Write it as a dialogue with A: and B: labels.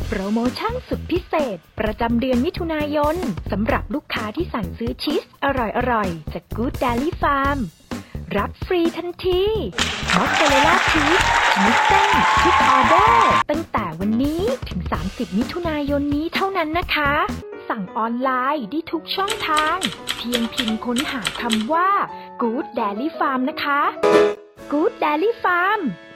A: โปรโมชั่นสุดพิเศษประจำเดือนมิถุนายนสำหรับลูกค้าที่สั่งซื้อชีสอร่อยๆจาก Good Dairy Farm รับฟรีทันทีมอสซาเรลล่าชีสชนิดเส้นทุกออเดอร์ตั้งแต่วันนี้ถึง30มิถุนายนนี้เท่านั้นนะคะสั่งออนไลน์ได้ทุกช่องทางเพียงพิมพ์ค้นหาคำว่า Good Dairy Farm นะคะ Good Dairy Farm